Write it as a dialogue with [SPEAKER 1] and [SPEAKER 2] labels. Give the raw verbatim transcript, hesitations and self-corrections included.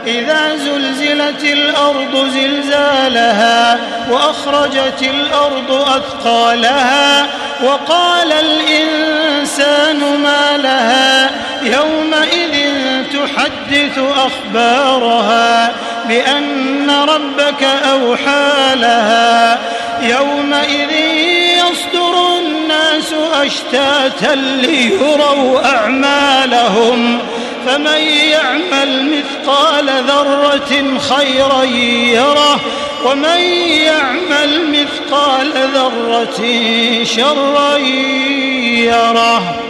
[SPEAKER 1] إذا زلزلت الأرض زلزالها وأخرجت الأرض أثقالها وقال الإنسان ما لها يومئذ تحدث أخبارها بأن ربك أوحى لها يومئذ يصدر الناس أشتاتا ليروا أعمالهم فمن يعمل مثقال ذرة خيرا يره ومن يعمل مثقال ذرة شرا يره.